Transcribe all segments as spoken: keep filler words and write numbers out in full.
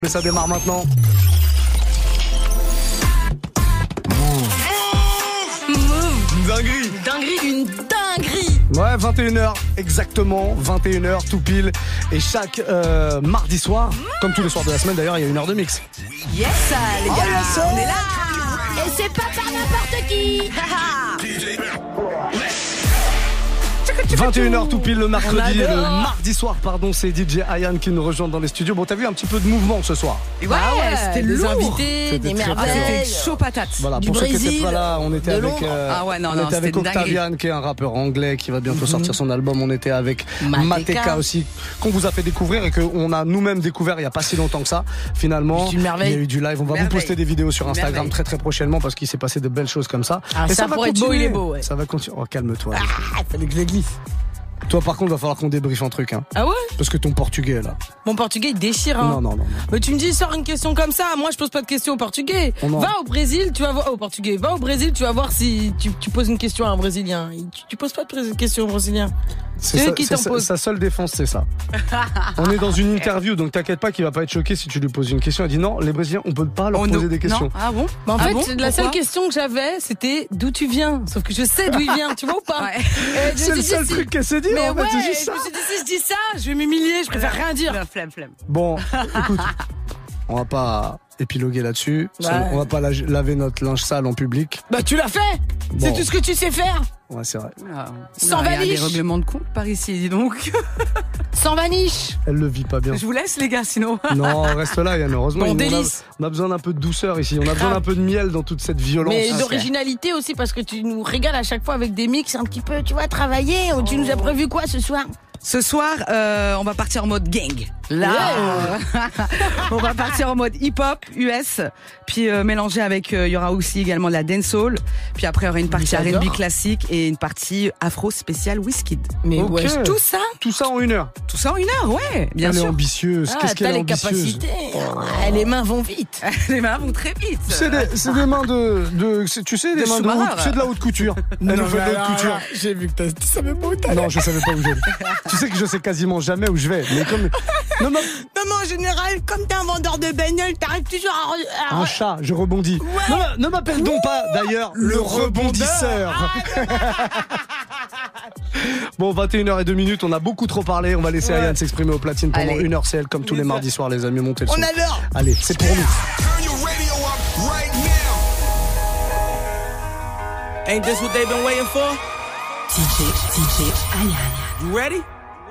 Mais ça démarre maintenant. Move. Dinguerie. Dinguerie, une dinguerie. Ouais, vingt et une heures, exactement, vingt et une heures tout pile. Et chaque euh, mardi soir, comme tous les soirs de la semaine d'ailleurs, il y a une heure de mix. Yes, les gars, oh, yes, on est là. Et c'est pas par n'importe qui. vingt et une heures tout pile le mercredi, le mardi soir, pardon, c'est D J Ayan qui nous rejoint dans les studios. Bon, t'as vu un petit peu de mouvement ce soir? Ouais, ah ouais, c'était des lourd. invités, c'était des très, merveilles. très C'était chaud patate. Voilà, du pour Brésil, ceux qui n'étaient pas là, on était avec, euh, ah ouais, non, on non, était avec Octavian, qui est un rappeur anglais qui va bientôt mm-hmm. sortir son album. On était avec Mateka, Mateka aussi, qu'on vous a fait découvrir et qu'on a nous-mêmes découvert il n'y a pas si longtemps que ça. Finalement, il y a eu du live. On va merveille. vous poster des vidéos sur Instagram merveille. très très prochainement parce qu'il s'est passé de belles choses comme ça. Ah, et ça, ça va continuer. Beau, il est beau. Ouais. Ça va continuer. Oh, calme-toi. Ah, fallait que je le glisse. Toi, par contre, il va falloir qu'on débriefe un truc. Hein. Ah ouais? Parce que ton portugais, là. Mon portugais, il déchire. Hein. Non, non, non, non. Mais tu me dis, sors une question comme ça. Moi, je pose pas de questions au portugais. Oh va au Brésil, tu vas voir. Au portugais. Va au Brésil, tu vas voir si tu, tu poses une question à un Brésilien. Tu, tu poses pas de question au Brésilien. C'est, c'est eux qui t'en posent. Sa seule défense, c'est ça. On est dans une interview, donc t'inquiète pas qu'il va pas être choqué si tu lui poses une question. Elle dit non, les Brésiliens, on peut pas leur oh poser no. des questions. Non. Ah bon? Bah en ah fait, bon la Pourquoi seule question que j'avais, c'était d'où tu viens. Sauf que je sais d'où il vient, tu vois ou pas? Ouais. Et c'est le seul si... truc qu'elle s'est dit. Mais en ouais, fait, c'est juste je ça. me suis dit si je dis ça, je vais m'humilier. Je préfère rien dire. Flemme, flemme. Bon, écoute, on va pas épiloguer là-dessus. Bah, on va pas laver notre linge sale en public. Bah tu l'as fait. Bon. C'est tout ce que tu sais faire. Ouais, c'est vrai. Ah, Sans vaniche. Il y a des règlements de compte par ici, dis donc. Sans vaniche. Elle le vit pas bien. Je vous laisse, les gars, sinon. Non, reste là, Yann. Heureusement, bon, on, a, on a besoin d'un peu de douceur ici. On a besoin d'un peu de miel dans toute cette violence. Mais d'originalité aussi, parce que tu nous régales à chaque fois avec des mix un petit peu, tu vois, travailler. Oh. Tu nous as prévu quoi ce soir? Ce soir, euh, on va partir en mode gang. Là, yeah. On va partir en mode hip-hop U S, puis euh, mélanger avec, il euh, y aura aussi également de la dancehall, puis après il y aura une partie R and B classique et une partie afro spéciale Wizkid. Mais okay. ouais, tout ça, tout ça en une heure. Tout ça en une heure, ouais, bien elle sûr. Elle est ambitieuse. Ah, Qu'est-ce qu'elle est les ambitieuse. Capacités. Ouais, les mains vont vite. Les mains vont très vite. C'est des, c'est des mains de, de tu sais, des, des mains de haute, c'est de la haute couture. Non, elle nous fait de la haute couture. J'ai vu que t'as, tu savais pas où t'allais. Non, je savais pas où j'allais. Tu sais que je sais quasiment jamais où je vais. Mais comme non, non. non, mais en général, comme t'es un vendeur de bagnole, t'arrives toujours à, à... un chat. Je rebondis. Ouais. Non, ne m'appelle donc pas d'ailleurs le, le rebondisseur. Ah, bon, vingt et une heures deux minutes, on a beaucoup trop parlé. On va laisser ouais. Ayane s'exprimer au platine pendant Allez. une heure. C'est elle, comme tous les mardis soirs, les amis. Montez le son. On adore. Allez, c'est pour nous. Ain't this what they've been waiting for? D J, D J Ayane. You ready?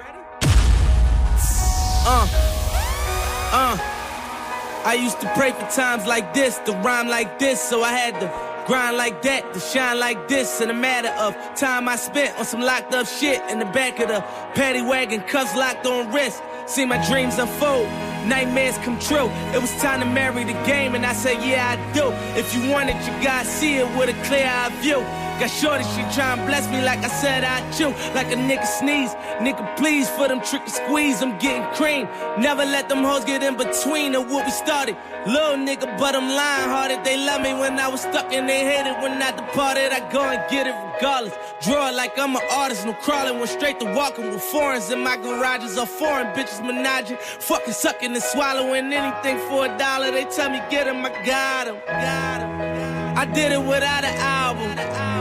Uh, uh, I used to pray for times like this, to rhyme like this, so I had to grind like that, to shine like this. In a matter of time I spent on some locked up shit in the back of the paddy wagon, cuffs locked on wrist. See my dreams unfold, nightmares come true. It was time to marry the game, and I said, yeah, I do. If you want it, you gotta see it with a clear eye view. Got shorty, she tryna bless me like I said I chew. Like a nigga sneeze, nigga please for them tricky squeeze, I'm getting cream. Never let them hoes get in between of what we started. Little nigga, but I'm lying hearted. They love me when I was stuck and they hated when I departed. I go and get it regardless. Draw it like I'm an artist, no crawling. Went straight to walking with foreigns in my garages. All foreign bitches menaging, fucking sucking and swallowing anything for a dollar. They tell me get him, I got him, got him. I did it without an album.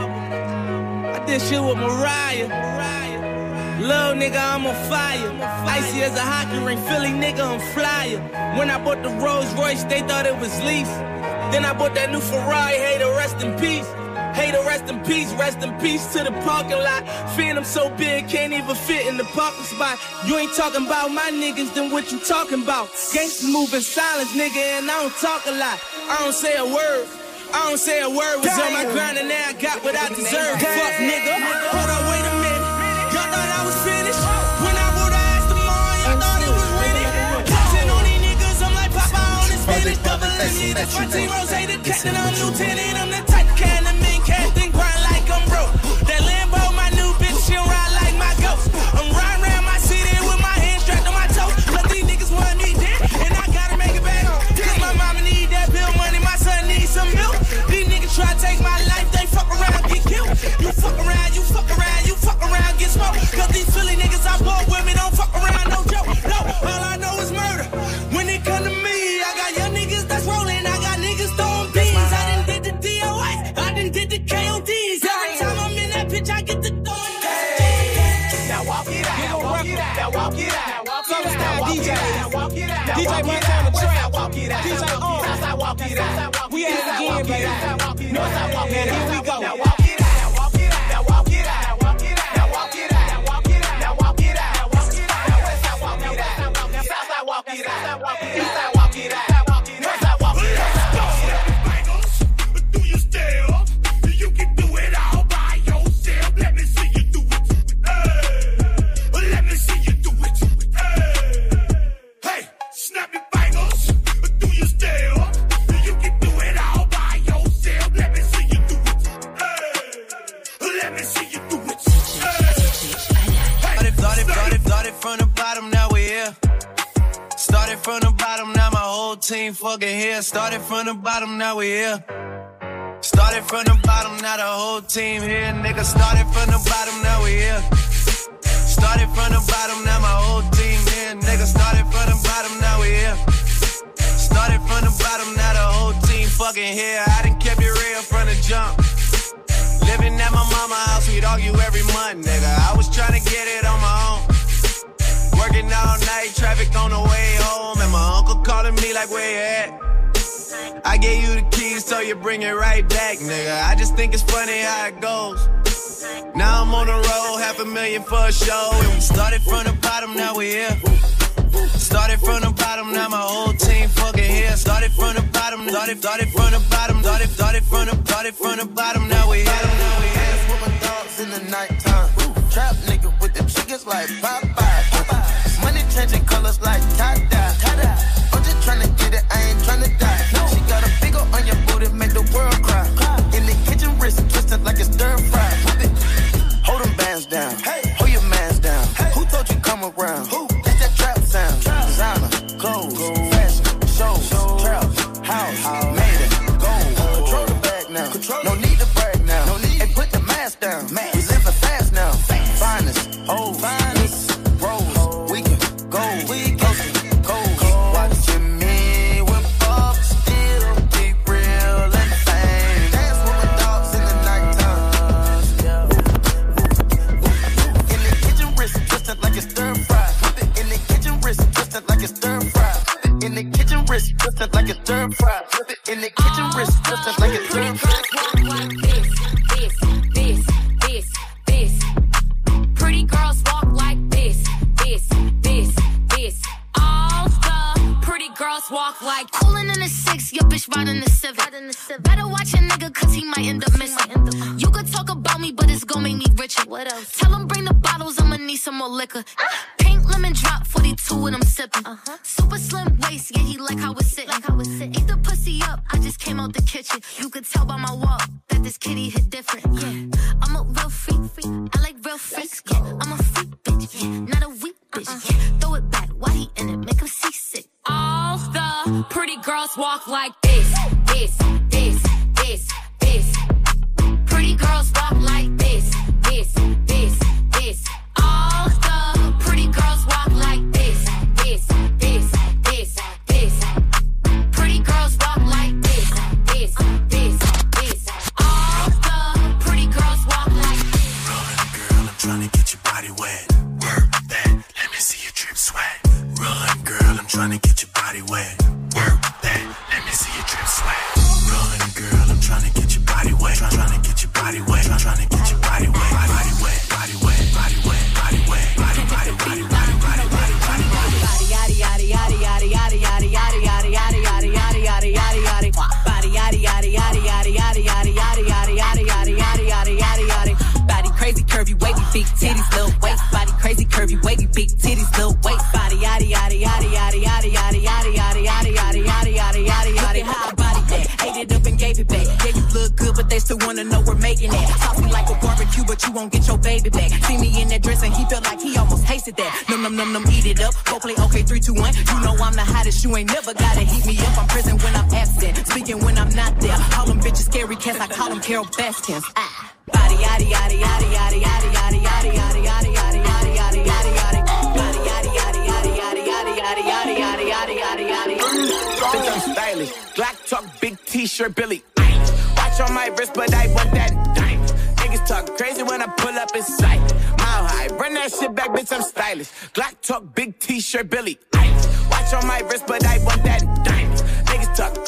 I did shit with Mariah. Little nigga, I'm on fire. Icy as a hockey ring, Philly nigga, I'm flyer. When I bought the Rolls Royce, they thought it was lease. Then I bought that new Ferrari, hey, to rest in peace. Hey, to rest in peace, rest in peace to the parking lot. Phantom so big, can't even fit in the parking spot. You ain't talking about my niggas, then what you talking about? Gangsta move in silence, nigga, and I don't talk a lot. I don't say a word. I don't say a word, was on my grind and now I got what I deserve. Fuck nigga, hold on, wait a minute. Y'all thought I was finished? When I wrote I asked them all, y'all thought it was winning. Ten on these niggas, I'm like Papa on the spinach. Double M C, the fourteen rows, hey, the captain, I'm lieutenant. I'm the type can the main cat thing grind like I'm broke. That Lambo, my new bitch, she'll ride like my ghost. I'm riding around my city with my hands strapped on my toes. But these niggas want me dead, and I gotta make it back home. Cause my mama need that bill money, my son needs some milk. These niggas try to take my life, they fuck around, get killed. You fuck around, you fuck around, you fuck around, get smoked. Cause these Philly niggas I bought with me don't fuck around, no joke. No, all I know is murder. When it come to me, I walk it out. Southside walk it out. We at it again, baby. Northside walk it out. Here we go. Now walk it out. Now walk it out. Now walk it out. Now walk it out. Now walk it out. Now walk it out. Now walk it out. Now walk it out. Now Westside walk it out. Now Southside walk it out. Eastside walk it out. Northside walk it out. Do you still? You can do it all by yourself. Let me see you do it. Hey, let me see you do it. Hey, hey, snap your fingers. Do you still? You can do it all by yourself. Let me see you do it. Hey, let me see you do it. Hey, started, started, started from the bottom, now we're here. Started from the bottom, now my whole team fucking here. Started from the bottom, now we here. Started from the bottom, now the whole team here. Nigga, started from the bottom, now we here. Started from the bottom, now my whole team here. Nigga, started from the bottom, now we here. Started from the bottom, now the whole team fucking here. I done kept it real from the jump. Living at my mama's house, we'd argue every month, nigga. I was trying to get it on my own. Working all night, traffic on the way home. And my uncle calling me like, where you at? I gave you the keys, so you bring it right back, nigga. I just think it's funny how it goes. Now I'm on the road, half a million for a show. And we started from the bottom, now we here. Started from the bottom, now my whole team fucking here. Started from the bottom, started, started from the bottom, started, started from the, started from the bottom, now we here. Now we here. With my dogs in the nighttime. Trap nigga with the chickens like Popeye. Money changing colors like tie-dye. I'm just tryna get it, I ain't tryna die. She got a big ol' on your booty, make the world cry. In the kitchen, wrist twisted like it's stir fry. Hold them bands down, hold your mans down. Who told you come around? That's that trap sound. Designer, clothes, fashion, shows, trap, house, made it, gold. Control the bag now, no need to brag now. Hey, put the mask down, we living fast now. Finest, old, finest, rose, we can go, we can go. Watching me whip up, still be real and fame. Dance with my dogs in the nighttime. In the kitchen, wrist twisted like it's stir fry. In the kitchen, wrist twisted like it's stir fry. In the kitchen, wrist twisted like it's stir fry. In the kitchen, wrist twisted like it's stir fry. This, this, this, this. Pretty girls walk like this, this, this, this. All the pretty girls walk like coolin' in the six, your bitch riding the seven. Better watch a nigga cause he might end up missing. You could talk about me, but it's gon' make me richer. What else? Tell him bring the bottles, I'ma need some more liquor. Pink lemon drop, forty-two and I'm sippin'. Uh-huh. Super slim waist, yeah, he like how it's sittin'. Like how it's sittin'. Eat the pussy up, I just came out the kitchen. You could tell by my walk that this kitty hit different. Yeah, I'm a real freak, freak. I like real freaks. Yeah, I'm a freak bitch, yeah, not a weak bitch. Uh-uh. Yeah, throw it back, why he in it? Make him seasick. all the pretty girls walk like this, this, this, this, this. Pretty girls walk like this, this, this, this. All the pretty girls walk like this, this, this, this, this. Pretty girls walk like this, this, this, this. All the pretty girls walk like this. Run, girl, I'm trying to get your body wet. Work that, let me see you drip sweat. Run, girl, I'm trying to get your body wet. Work that, let me see you drip sweat. Run, girl, I'm trying to get your body wet. Try, trying to get your body wet. Try, trying to get your body wet. Body wet, body wet, body wet, body wet, body, body, body, body, body, body, body, body. Yaddy yaddy yaddy yaddy yaddy yaddy yaddy yaddy yaddy yaddy yaddy yaddy yaddy yaddy body yaddy yaddy yaddy yaddy yaddy yaddy yaddy yaddy yaddy yaddy yaddy yaddy yaddy yaddy body crazy curvy wavy big titties little waist body crazy curvy wavy big titties little waist body yaddy yaddy yaddy yaddy yaddy yaddy yaddy yaddy yaddy yaddy yaddy yaddy yaddy yaddy how body that ate it up and gave it back. Yeah, you look good, but they still wanna know we're making it. Saucy like a barbecue, but you won't get your baby back. See me in that dress and he felt like he almost tasted that. Num num num num, eat it up. Go play okay, three, two, one. You know I'm the hottest. You ain't never gotta heat me up. I'm present when I'm absent, speaking when I'm not there. Call them bitches scary cats. I call them Carol Baskins. Ah. Body yaddy yaddy yaddy yaddy yaddy yaddy yaddy yaddy yaddy yaddy yaddy yaddy yaddy yaddy body yaddy yaddy yaddy yaddy yaddy yaddy yaddy yaddy yaddy yaddy yaddy yaddy. Bitch, I'm stylish. Glock talk, big T-shirt, Billy. Watch on my wrist, but I want that dime. Niggas talk crazy when I pull up in sight. Mile high, run that shit back, bitch, I'm stylish. Glock talk, big T-shirt, Billy. Watch on my wrist, but I want that dime.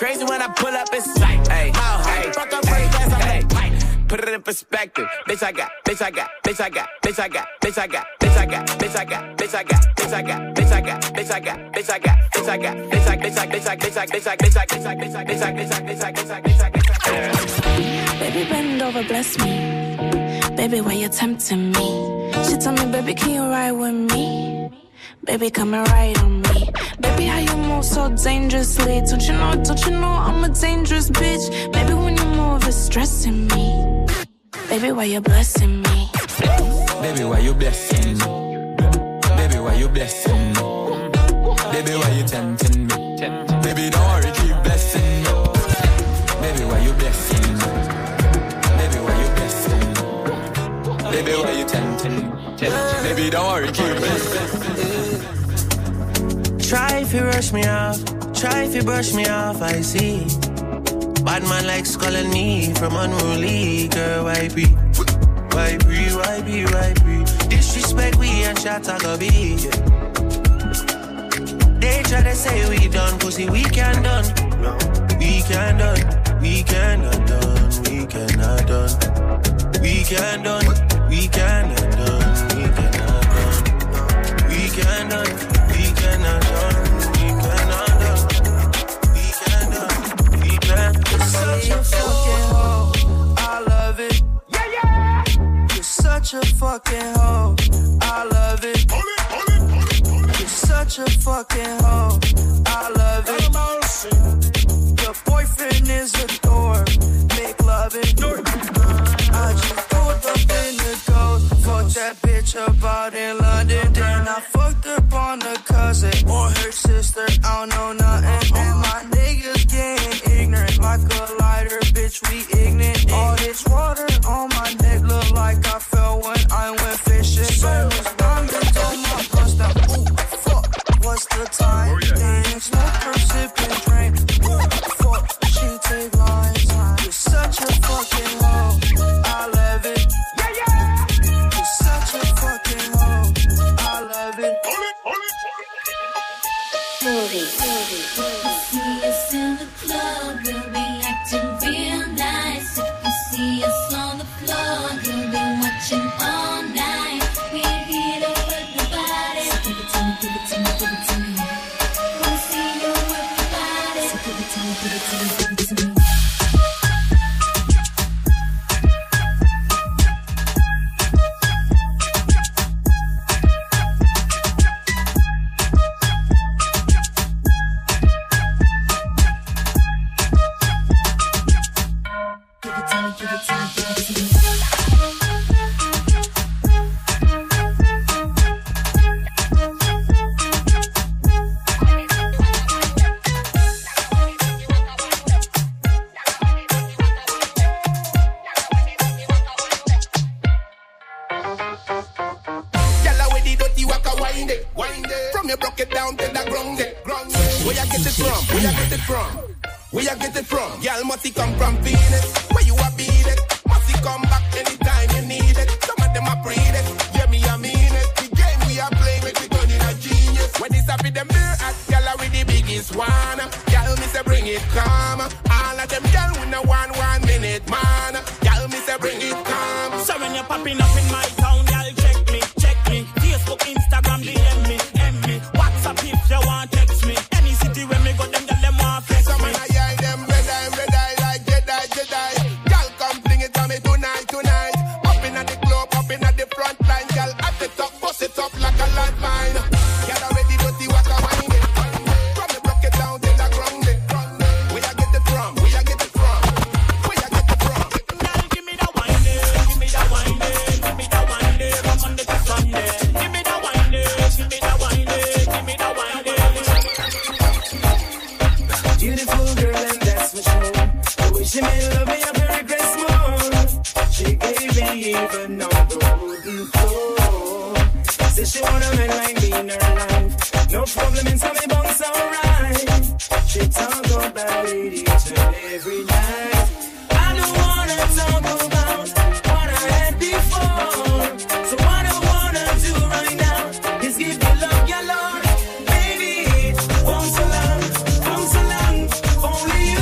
Crazy when I pull up, it's like, hey, hey, fuck up first class, I'm like, put it in perspective. Bitch, I got, bitch, I got, bitch, I got, bitch, I got, bitch, I got, bitch, I got, bitch, I got, bitch, I got, bitch, I got, bitch, I got, bitch, I got, bitch, I got, bitch, I got, bitch, I, bitch, I, bitch, I, bitch, I, bitch, I, bitch, I, bitch, I, bitch, I, bitch, I, bitch, I, bitch, I, bitch, I, bitch, I, bitch, I. Baby, bend over, bless me. Baby, why you tempting me? She told me, baby, can you ride with me? Baby, come and ride on me. Baby, how you move so dangerously? Don't you know, don't you know I'm a dangerous bitch? Baby, when you move, it's stressing me. Baby, why you blessing me? Baby, why you blessing me? Baby, why you blessing me? Baby, why you tempting me? Baby, don't worry, keep blessing me. Baby, why you blessing me? Baby, why you blessing me? Baby, why you tempting me? Baby, don't worry, keep blessing me. Try if you rush me off, try if you brush me off, I see. Bad man likes calling me from unruly, girl, why be? Why be, why be, why be? Disrespect we and shot I go be. They try to say we done, pussy we can done. We can done, we cannot done, we cannot done. We can done, we cannot done, we cannot done. We can done, we cannot done, we cannot done. We can done, we can. You're such a fucking hoe, I love it. Yeah, yeah. You're such a fucking hoe, I love it. You're such a fucking hoe, I love it. Your boyfriend is a door, make love it. I just pulled up in the ghost, fucked that bitch up out in London. Then I fucked up on the cousin or her sister, I don't know nothing. And my niggas getting ignorant, like a lighter, bitch, we ignorant. All this water on my neck look like I fell when I went fishing. So much diamonds on my bust down, ooh, fuck, what's the time? Then smoke her sipping drink, ooh, fuck, she take lines. You're such a fucking hoe, I love it. Yeah, yeah. You're such a fucking hoe, I love it. Movie, movie, movie. See us in the club, we'll be acting real nice. If you see us on the floor, you'll be watching all night. We're here to work the body. So give it to me, give it to me, give it to me. Wanna see you work the body. So give it to me, give it to me, give it to me. Only you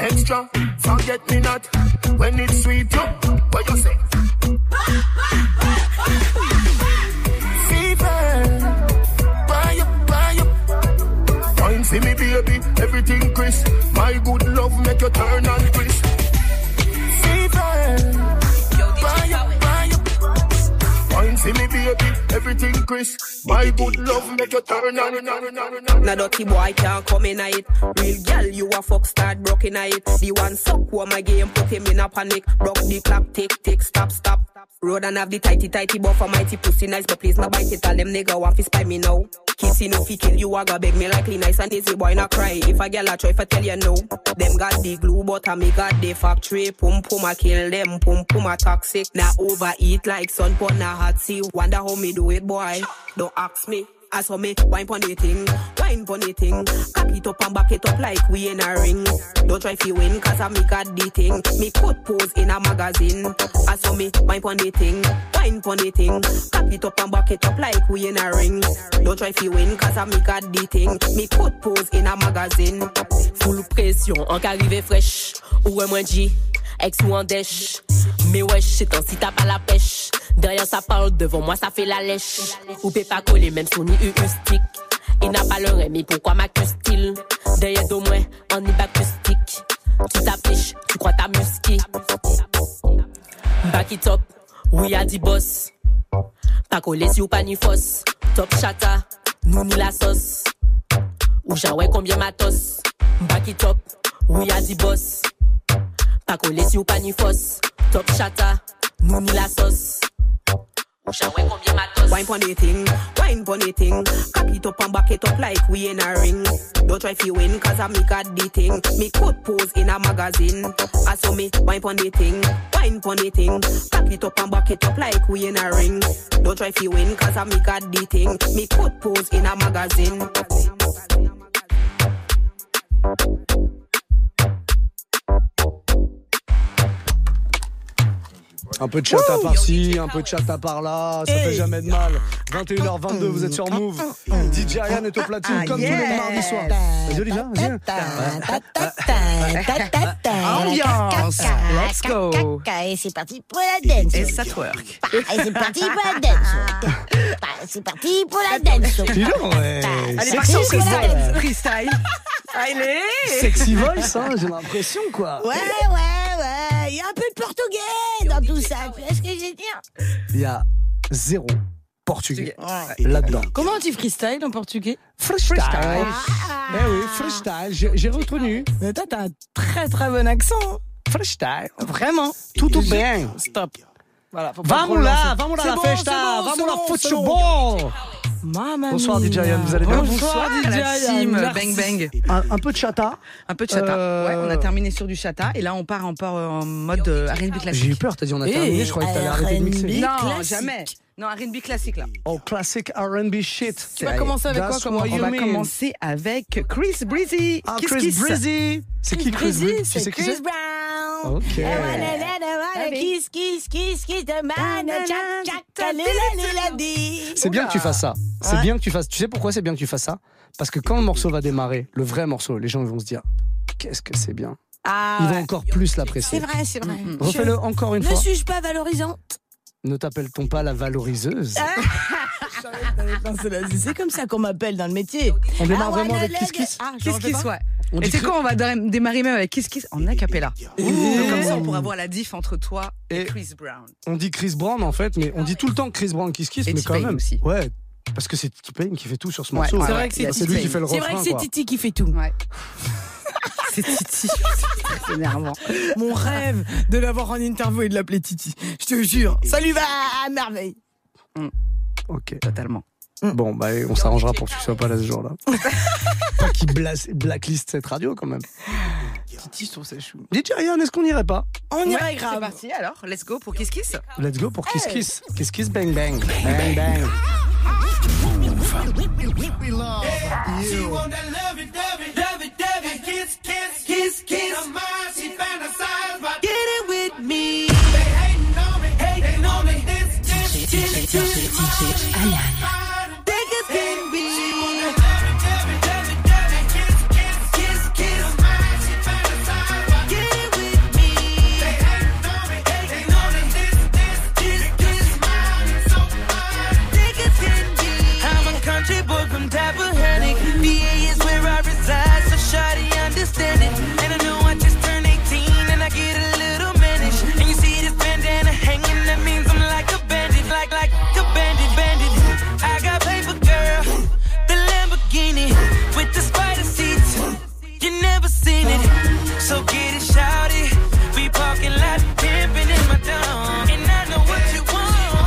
extra, forget me not. When it's sweet, yo, what you say? Fever, buy up, buy up. Wine see me baby, everything crisp. My good love make you turn and crisp. Fever, buy up, buy up. Wine see me baby, everything crisp. My good love make you turn and crisp. Now dirty boy can't come in it. Real girl, you a fuck start broke in it. The one suck who my game put him in a panic. Broke the clock, tick tick, stop stop. Road and have the tighty tighty buffer mighty pussy nice, but please not bite it. Tell them nigga want fi spy me now. Kissy no fi kill you, I go beg me likely nice and easy boy not cry. If a girl a try fi tell you no, them got the glue but I me got the factory. Pum pum I kill them, pum pum I toxic. Now overeat like sun pon a hot sea. Wonder how me do it boy, don't ask me. I saw me wine pon the thing, wine pon the thing. Cock it up and back it up like we in a ring. Don't try fi win cause I me got the thing. Me could pose in a magazine. I saw me wine pon the thing, wine pon the thing. Cock it up and back it up like we in a ring. Don't try fi win cause I me got the thing. Me could pose in a magazine. Full pression, en qu'arrivé fraîche. Ou un moins G, ex ou en dèche. Mais wesh, c'est un si t'as pas la pêche. Derrière ça parle, devant moi ça fait la lèche. Ou peut pas coller même son i u stick. Il n'a pas le rêve, mais pourquoi m'accuse-t-il? Derrière d'au moins, en acoustique. Tu t'affiches, tu crois ta musky. Back it up, oui a dit boss. Pas collé si ou pas ni fausse. Top chata, nous ni la sauce. Ou j'envoie combien matos. Back it up, oui a dit boss. Pas collé si ou pas ni fausse. Top chata, nous ni la sauce. Wine pon the thing, wine pon the thing. Cock it up and back it up like we in a ring. Don't try fi win cause I me got the thing. Me could pose in a magazine. I saw me wine pon the thing, wine pon the thing. Cock it up and back it up like we in a ring. Don't try fi win cause I me got the thing. Me could pose in a magazine. Un peu de chat à par-ci, un peu de chat à par-là, ça fait jamais de mal. vingt et une heures vingt-deux, vous êtes sur Move. D J Ryan est au platine comme tous les mardis soirs. Vas-y Olivia, vas-y. Ambiance, let's go. Et c'est parti pour la dance. Et ça twerk. Et c'est parti pour la dance. C'est parti pour la dance. Dis donc, ouais. Allez, parti pour la dance. Freestyle. Allez. Sexy voice, hein, j'ai l'impression quoi. Ouais, ouais, ouais. Il y a un peu de portugais dans tout ça. Tu vois ce que je veux dire? Il y a zéro portugais ouais. là-dedans. Comment on dit freestyle en portugais? Freestyle. Ah. Eh oui, freestyle. J'ai, j'ai retenu. Mais toi, t'as un très très bon accent. Freestyle. Vraiment. Tout bien. Stop. Voilà. Vamos là, vamos là la bon, festa, bon, vamos bon, la football. Mamma Bonsoir mia. D J Ryan, vous allez bien? Bonsoir D J Ryan. Bang bang. Un, un peu de chata. Un peu de chata. Euh... Ouais, on a terminé sur du chata et là on part encore en mode R and B classique. J'ai eu peur, t'as dit on a terminé, je croyais que t'allais arrêter de mixer. Non, classique. Jamais. Non, R and B classique là. Oh, classic R and B shit. Tu vas commencer avec quoi comme On va mean. commencer avec Chris Breezy. Ah, Kiss Chris Kiss. Breezy. C'est qui Chris Breezy? C'est Chris, Chris Brown. Ok. I wanna let her wanna kiss, kiss, kiss, kiss the man. Jack, Jack, lila, lila, c'est bien que tu fasses ça. C'est ouais. bien que tu fasses. Tu sais pourquoi c'est bien que tu fasses ça? Parce que quand le morceau va démarrer, le vrai morceau, les gens vont se dire qu'est-ce que c'est bien. Ah, ils vont ouais. encore plus l'apprécier. C'est vrai, c'est vrai. Mm-hmm. Refais-le encore une ne fois. Ne suis-je pas valorisante? Ne t'appelle-t-on pas la valoriseuse? C'est comme ça qu'on m'appelle dans le métier. On démarre ah, vraiment avec Kiss Kiss. Ah, Kiss Kiss, ouais. Et c'est quoi, on va démarrer même avec Kiss Kiss en acapella. Donc comme ça, on pourra voir la diff entre toi et, et Chris Brown. On dit Chris Brown en fait, mais on dit tout le temps Chris Brown, Kiss Kiss, et mais quand même. Aussi. Ouais. Parce que c'est T-Pain qui fait tout sur ce morceau. Ouais, c'est vrai que c'est, c'est lui qui fait le refrain. C'est vrai que c'est quoi. Titi qui fait tout. Ouais. C'est Titi. C'est énervant. Mon rêve de l'avoir en interview et de l'appeler Titi. Je te jure. Ça lui va à merveille. Mm. Ok. Totalement. Mm. Bon, bah, on s'arrangera pour que tu sois pas là ce jour-là. Pas qu'il blacklist cette radio quand même. Titi, je trouve ça chou. D J Ryan, est-ce qu'on irait pas? On ouais, irait grave. C'est parti alors. Let's go pour Kiss Kiss. Let's go pour Kiss Kiss. Hey. Kiss Kiss, bang bang. Bang bang. We love you. She want that love it, love it, love it, love it. Kiss, kiss, kiss, kiss. Her mind, she fantasize about get it with me. They hating on me, hating on me. This, this, this, this, this. They could pin me. She want that love it, love it, love it, love it. Kiss, kiss, kiss, kiss. Her mind, she fantasize about So get it, shout it. We parking lot pimping in my dome. And I know what you want.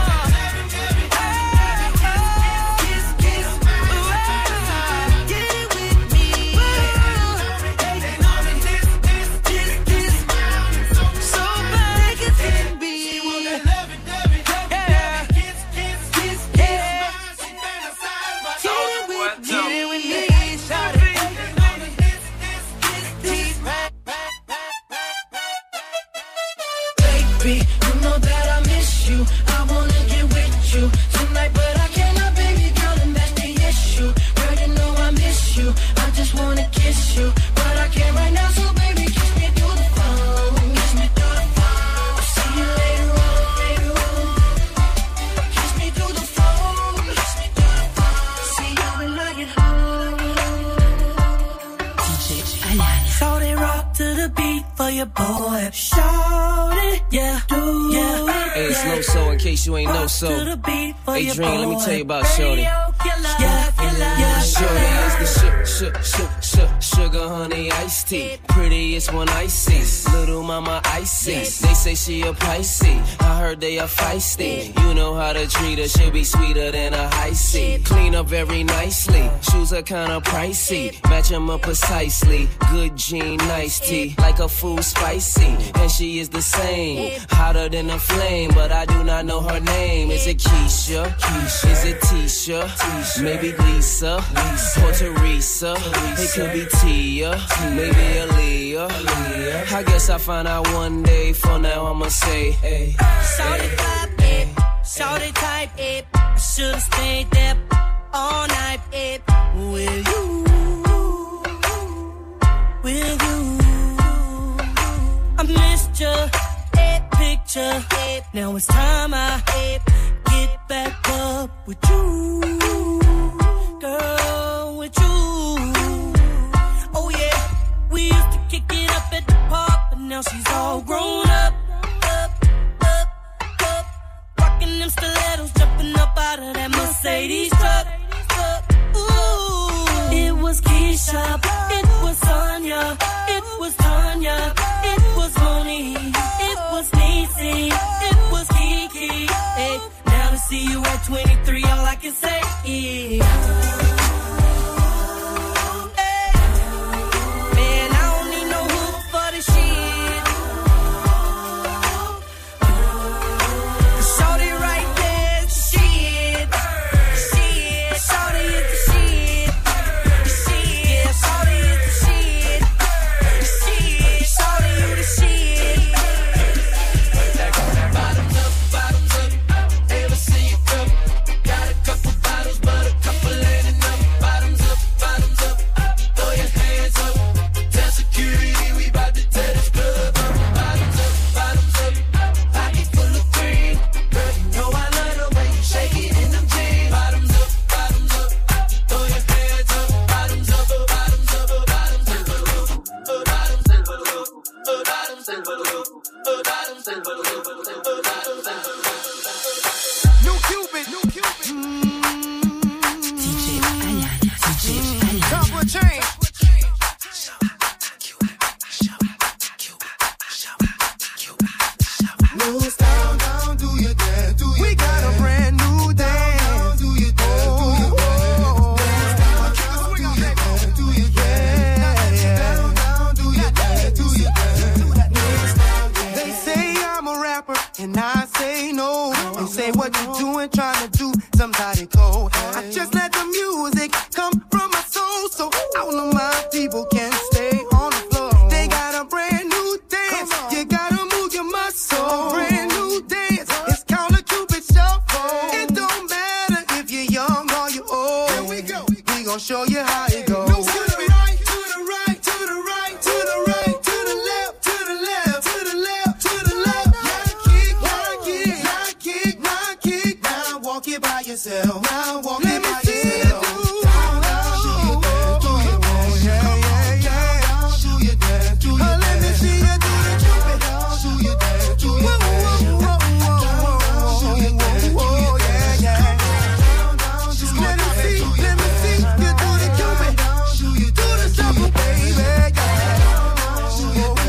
Boy, shout it, yeah, do yeah. Hey, it's no so in case you ain't know so. Hey, Dream, let me tell you about Shorty. Yeah, yeah, Shorty is the sugar, sugar, sugar, sugar, honey, iced tea. Prettiest one I see, little mama icy. They say she a Pisces, I heard they are feisty. You know how to treat her, she'll be sweeter than a high C. Clean up very nicely, shoes are kinda pricey. Match them up precisely, good jean, nice tea. Like a food spicy, and she is the same. Hotter than a flame, but I do not know her name. Is it Keisha? Keisha. Is it Tisha? Tisha. Maybe Lisa, Lisa. Or Teresa. Teresa. It could be Tia, Tia. Maybe Aaliyah. Aaliyah. I guess I'll find out one day. For now I'ma say, hey. Shorty vibe it, shorty type it. I should've stayed there all night it. With you, with you. I missed your picture. Now it's time I get back up with you, girl, with you. Oh yeah, we used to kick it up at the park, but now she's all grown up, up, up, up. Rocking them stilettos, jumping up out of that Mercedes truck. Ooh, it was Keisha, it was Sonya, it was Tanya, it was Moni, it was Niecy, it was Kiki. Hey, now to see you at twenty-three, all I can say is, hey, man, I don't need no hoop for the shit. Shorty right there, shit, shit. Shorty is the shit, shit. Yeah, shorty is the shit, shit. Shorty, you the shit. Bottoms up, bottoms up. Ever see you come? Got a couple bottles, but a couple ain't enough. Bottoms up, bottoms up. Throw your hands up. Tell security we bout to tear this club up. Bottoms up, bottoms up. Pocket full of green. Girl, you know I love the way you shake it in them jeans. Bottoms up, bottoms up. Throw your hands up. Bottoms up, bottoms up, bottoms up. Bottoms up, bottoms up, bottoms up. New Cupid, New Cupid. D J Ayana, D J Ayana. Top of chain. Moves down, down, do your dance, do your We got a brand new dance. Down, do your dance, do your dance. Down, down, do your dance, do your dance. Down, down, do your dance, do your dance. They say I'm a rapper, and I say no. They say what you doing, trying to do somebody cold. I just let the music come from my soul, so all of my people can stay on the floor. They got a brand new dance, you gotta move your muscle. Brand new dance, it's called a Cupid Shuffle. It don't matter if you're young or you're old. Here we go, we gon' show you how it goes. To the right, to the right, to the right, to the right, to the left, to the left, to the left, to the left. Now kick, now kick, now kick, now kick. Now walk it by yourself. Now walk it by yourself. Down, down, do your dance, do your dance, yeah, yeah, yeah. Do your dance, do your dance. Let me see you do the Cupid. Do your dance, do your dance. Do your dance, do your dance, yeah, yeah. Just let me see, let me see you do the Cupid. Do the shuffle, baby, yeah.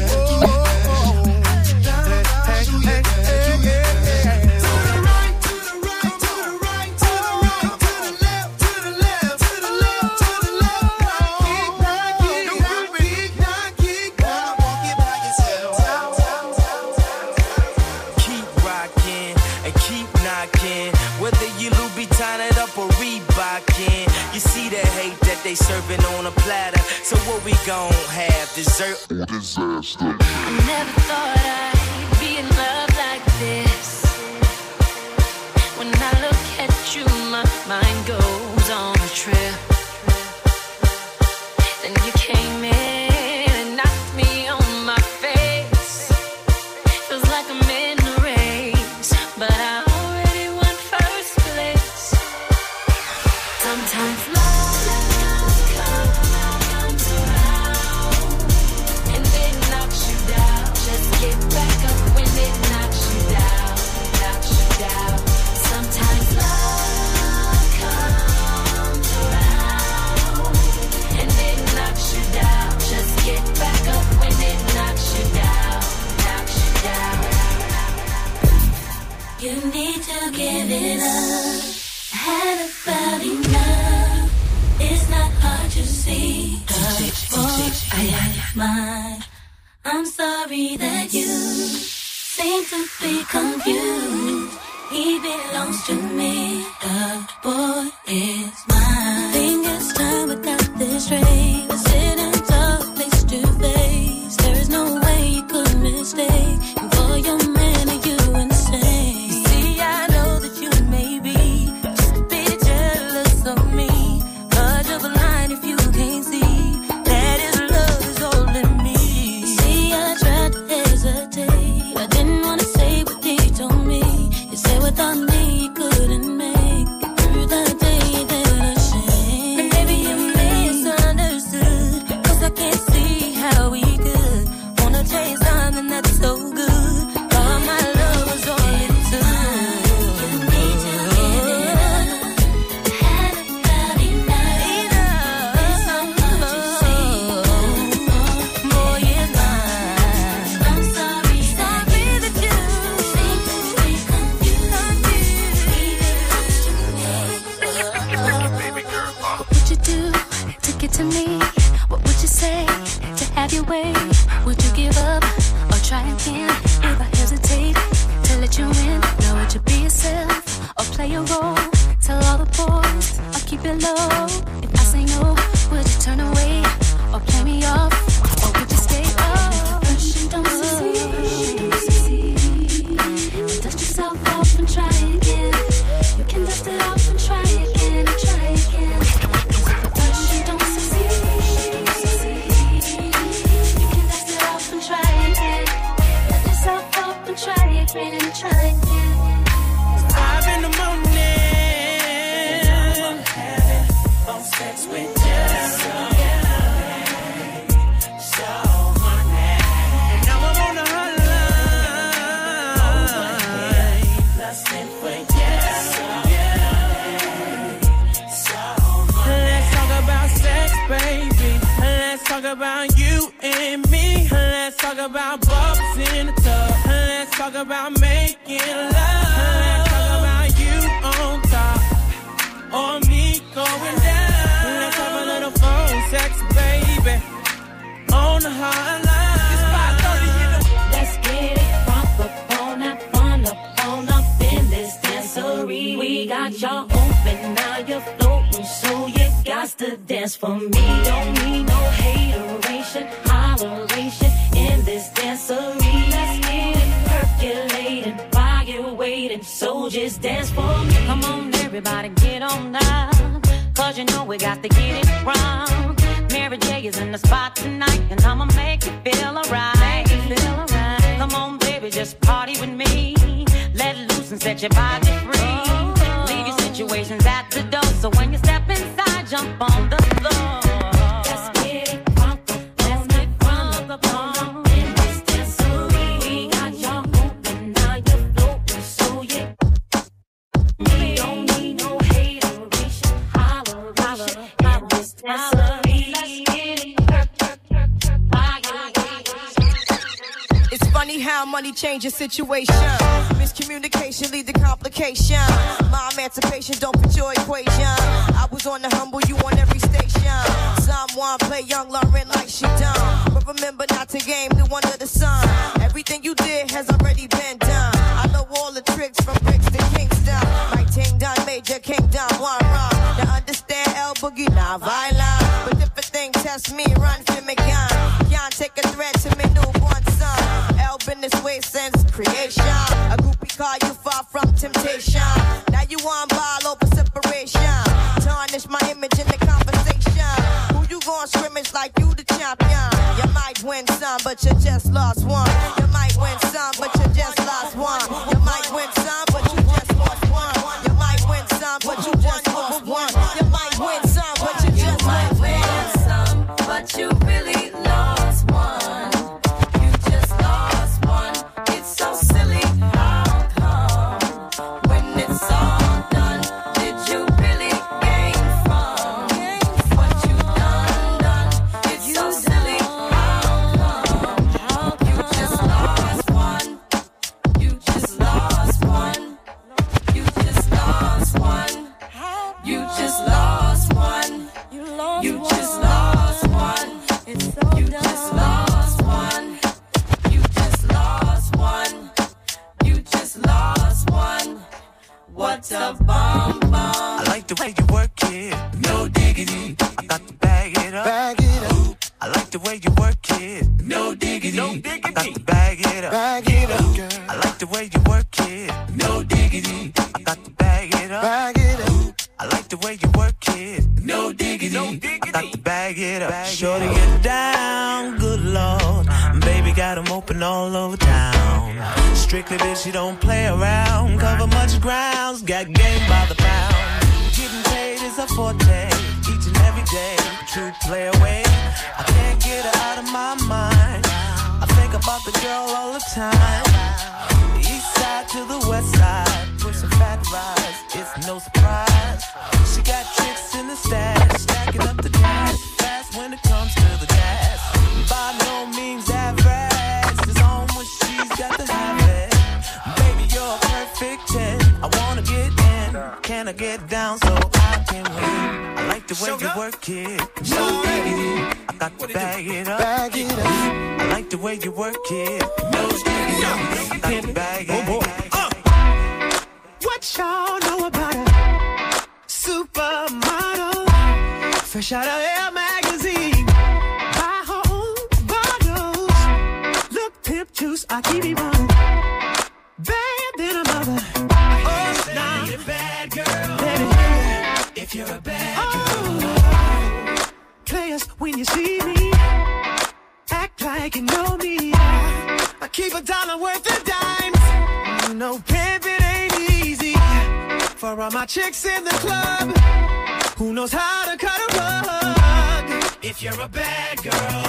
they serving on a platter. So what we gon' have, dessert or disaster? I never thought I'd be in love like this. When I look at you, my mind goes on a trip. Then you came in and knocked me on my face. Feels like I'm in a race, but I already won first place. Sometimes love comes around and it knocks you down. Just get back up when it knocks you down, knocks you down. Sometimes love comes around and it knocks you down. Just get back up when it knocks you down, knocks you down. You need to give it up. I had about enough. It's not hard to see. Boy, I am mine. I'm sorry that you seem to be confused. He belongs to me. The boy is mine. Think it's time without this race. We're sitting talk face to face. There is no way you could mistake. And for your man, are you insane? You see, I know that you may be just a bit jealous of me. But you're blind if you can't see that his love is all in me. You see, I tried to hesitate. I didn't want to say what he told me. You said without me you couldn't make it through the day that I shame. And maybe you misunderstood, cause I can't see how we could wanna chase something that's so good. All my love was all it took. You need to give it up. I had about enough. It's not hard to see. Boy, it's mine. I'm sorry, sorry that you seem to be confused. What would you do to get to me? What would you say to have your way? Would you give up or try again? If I hesitate to let you in, now would you be yourself or play a role? Tell all the boys or keep it low. If I say no, would you turn away or play me off? Or would you stay up? First you don't succeed, and dust yourself off and try again. You can dust it off and try again, and try again. First you don't succeed, you can dust it off and try again. Dust yourself off and try again, and try again. Five in the morning, having phone sex with you. So horny. And now I'm on the hotline, lusting for you. So horny. Let's talk about sex, baby. Let's talk about you and me. Let's talk about bubbles in the tub. Let's talk about making love. Let's talk about you on top or me going down. Let's have a little phone sex, baby, on the hotline. It's five thirty in the Let's get it crunk up on that fun up on up in this dancery. We got y'all open, now you're floating, so you got to dance for me. Don't need no hateration, holleration in this dancery. Let's get it percolating while you're waiting, so just dance for me. Come on, everybody, get on down, cause you know we got to get it wrong. Mary J is in the spot tonight, and I'ma make you feel alright. Make you feel alright. Come on, baby, just party with me. Let loose and set your body free. Leave your situations at the door, so when you step inside, jump on the floor. Let's get it crunk up, let's get crunk up on up in this dancery. We got y'all open, now you're floating, so you we don't need no hateration, holleration in this dancery. Let's get it perk, perk, perk, perk, perk. It's funny how money changes situation. Miscommunication lead to complication. My emancipation don't fit your equation. I was on the humble, you on every station. Someone play young Lauren like she done. But remember not to game new under the sun. Everything you did has already been done. I know all the tricks from bricks to Kingston. Like Ting Dun, Major Kingdom, one run. Now understand El Boogie boogie, not violent. But if a thing test me, run for me gun. Can't take a threat to me newborn son. L been this way since creation. A groupie call you far from temptation. Now you want ball over separation. Tarnish my image in the conversation. Who you gon' scrimmage like you the champion? You might win some, but you just lost one. You might win some, but you just lost one. You might win some, but you just lost one. You might win some, but you just lost one. You might win some, but you just lost one. But you really lost one. You just lost one. It's so silly. How come when it's all done, did you really gain from what you done done? It's so silly. How come you just lost one? You just lost one. You just lost one. You just lost one. You just lost one. You just lost one. You just lost one. You just lost one. What a bomb bomb. I like the way you work it, no diggity. I got to bag it up. Bag it up. I like the way you work it, no diggity. No diggity. I got to bag it up. Bag it up, girl. I like the way you work it, no diggity. I got to bag it up. Bag it up. I like the way you work it, no diggity. No diggity. I got to bag it up. Bag Shorty get down, good lord. Baby got 'em open all over town. Strictly bitch, you don't play around. Cover much grounds, got game by the pound. Getting paid is a forte, each and every day. True play away, I can't get her out of my mind. I think about the girl all the time. East side to the west side, pushing fat rides, it's no surprise. She got tricks in the stash, stacking up the cash, fast when it comes to the gas. By no means average, it's on when she's got to have it. Baby, you're a perfect ten, I wanna get in. Can I get down so I can win? I like the way you work it, no diggity. I got to bag it up. Bag it up. I like the way you work it, no diggity. I got to bag it up. What y'all know about a supermodel? Fresh out of Air magazine. Buy her own bottles. Look, pimp juice, I keep it running. Bad than a mother. Oh, nah. Need a bad girl. Let it hear. If you're a bad oh. girl. Players, when you see me, act like you know me. I keep a dollar worth of dimes. No pimping ain't easy. For all my chicks in the club, who knows how to cut a rug? If you're a bad girl,